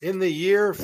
In the year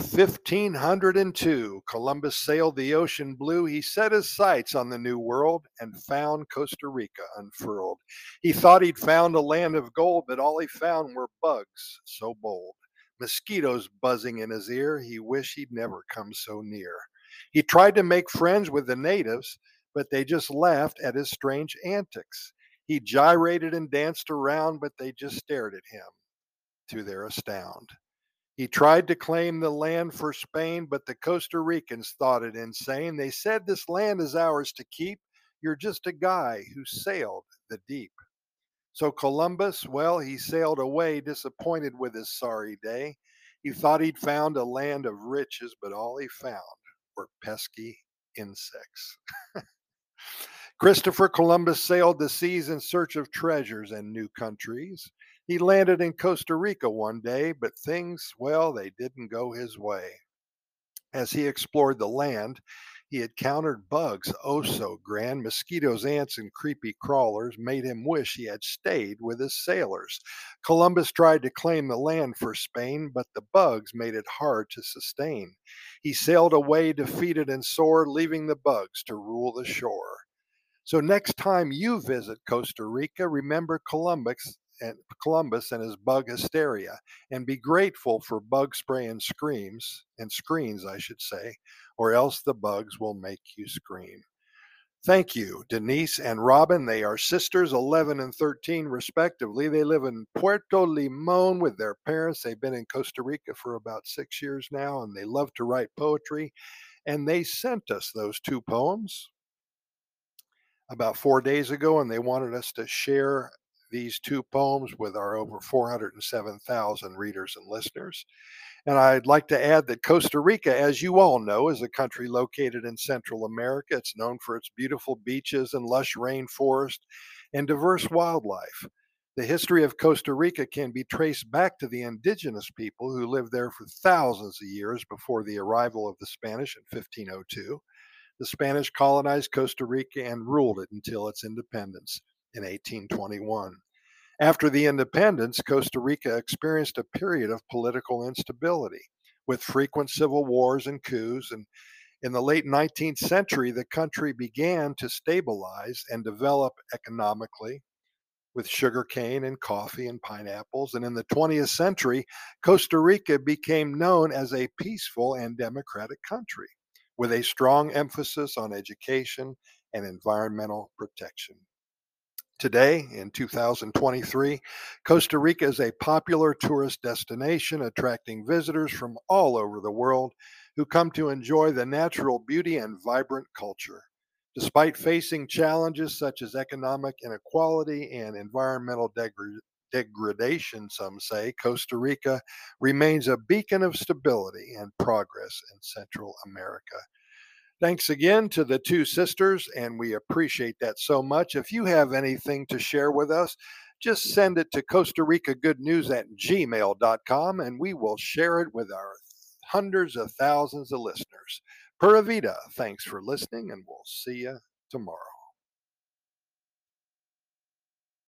1502, Columbus sailed the ocean blue. He set his sights on the New World and found Costa Rica unfurled. He thought he'd found a land of gold, but all he found were bugs so bold. Mosquitoes buzzing in his ear. He wished he'd never come so near. He tried to make friends with the natives, but they just laughed at his strange antics. He gyrated and danced around, but they just stared at him to their astound. He tried to claim the land for Spain, but the Costa Ricans thought it insane. They said, "This land is ours to keep. You're just a guy who sailed the deep." So Columbus, well, he sailed away, disappointed with his sorry day. He thought he'd found a land of riches, but all he found were pesky insects. Christopher Columbus sailed the seas in search of treasures and new countries. He landed in Costa Rica one day, but things, well, they didn't go his way. As he explored the land, he encountered bugs oh so grand. Mosquitoes, ants, and creepy crawlers made him wish he had stayed with his sailors. Columbus tried to claim the land for Spain, but the bugs made it hard to sustain. He sailed away defeated and sore, leaving the bugs to rule the shore. So next time you visit Costa Rica, remember Columbus and his bug hysteria, and be grateful for bug spray and screens, I should say, or else the bugs will make you scream. Thank you, Denise and Robin. They are sisters, 11 and 13, respectively. They live in Puerto Limon with their parents. They've been in Costa Rica for about 6 years now, and they love to write poetry. And they sent us those two poems about 4 days ago, and they wanted us to share these two poems with our over 407,000 readers and listeners. And I'd like to add that Costa Rica, as you all know, is a country located in Central America. It's known for its beautiful beaches and lush rainforest and diverse wildlife. The history of Costa Rica can be traced back to the indigenous people who lived there for thousands of years before the arrival of the Spanish in 1502. The Spanish colonized Costa Rica and ruled it until its independence in 1821. After the independence, Costa Rica experienced a period of political instability with frequent civil wars and coups. And in the late 19th century, the country began to stabilize and develop economically with sugarcane and coffee and pineapples. And in the 20th century, Costa Rica became known as a peaceful and democratic country with a strong emphasis on education and environmental protection. Today, in 2023, Costa Rica is a popular tourist destination attracting visitors from all over the world who come to enjoy the natural beauty and vibrant culture. Despite facing challenges such as economic inequality and environmental degradation, some say, Costa Rica remains a beacon of stability and progress in Central America. Thanks again to the two sisters, and we appreciate that so much. If you have anything to share with us, just send it to Costa Rica Good News at gmail.com, and we will share it with our hundreds of thousands of listeners. Pura Vida, thanks for listening, and we'll see you tomorrow.